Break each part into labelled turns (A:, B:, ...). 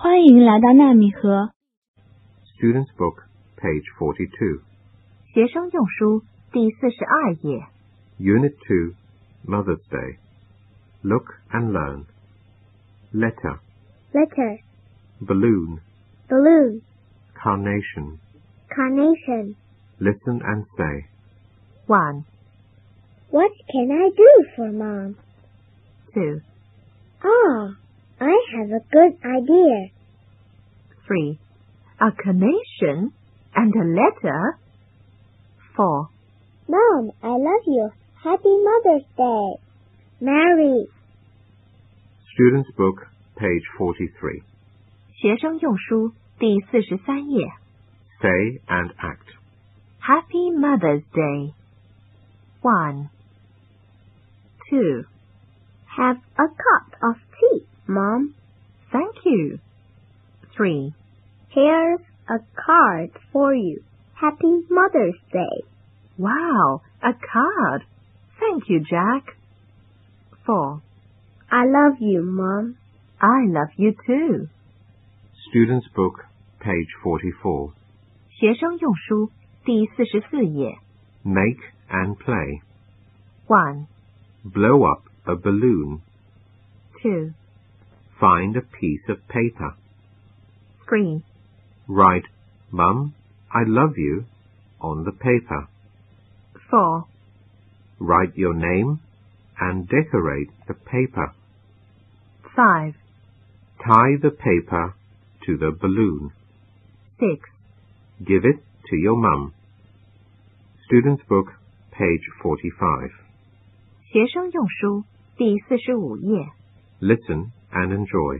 A: 欢迎来到纳米河。
B: Student's Book, page 42.
C: 学生用书第42页。
B: Unit 2, Mother's Day. Look and learn. Letter.
D: Letter.
B: Balloon.
D: Balloon.
B: Carnation.
D: Carnation.
B: Listen and say.
C: 1,
D: What can I do for Mom?
C: 2,
D: Ah, I have a good idea.
C: 3, A carnation and a letter. 4,
D: Mom, I love you. Happy Mother's Day. Mary.
B: Student's Book, page 43.
C: 学生用书第43页。
B: Say and act.
C: Happy Mother's Day. 1, 2,
D: Have a cup of tea, Mom.
C: Thank you. 3,
D: Here's a card for you. Happy Mother's Day.
C: Wow, a card. Thank you, Jack. 4,
D: I love you, Mom.
C: I love you too.
B: Student's Book, page 44.
C: 学生用书第44页。
B: Make and play.
C: 1,
B: Blow up a balloon.
C: 2,
B: Find a piece of paper.
C: 3,
B: Write, Mum, I love you, on the paper.
C: 4,
B: Write your name and decorate the paper.
C: 5,
B: Tie the paper to the balloon.
C: 6,
B: Give it to your mum. Student's Book, page 45.
C: 学生用书第45页。
B: Listen and enjoy.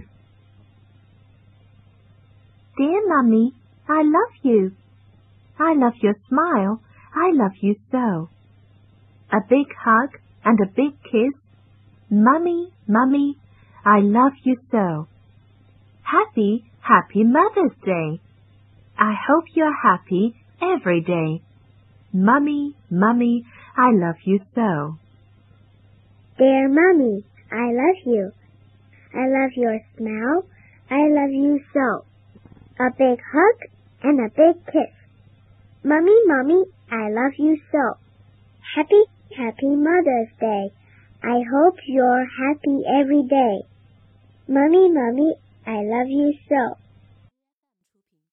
C: Dear Mummy, I love you. I love your smile. I love you so. A big hug and a big kiss. Mummy, Mummy, I love you so. Happy, happy Mother's Day. I hope you're happy every day. Mummy, Mummy, I love you so.
D: Dear Mommy, I love you. I love your smile. I love you so. A big hug and a big kiss. Mommy, Mommy, I love you so. Happy, happy Mother's Day. I hope you're happy every day. Mommy, Mommy, I love you so.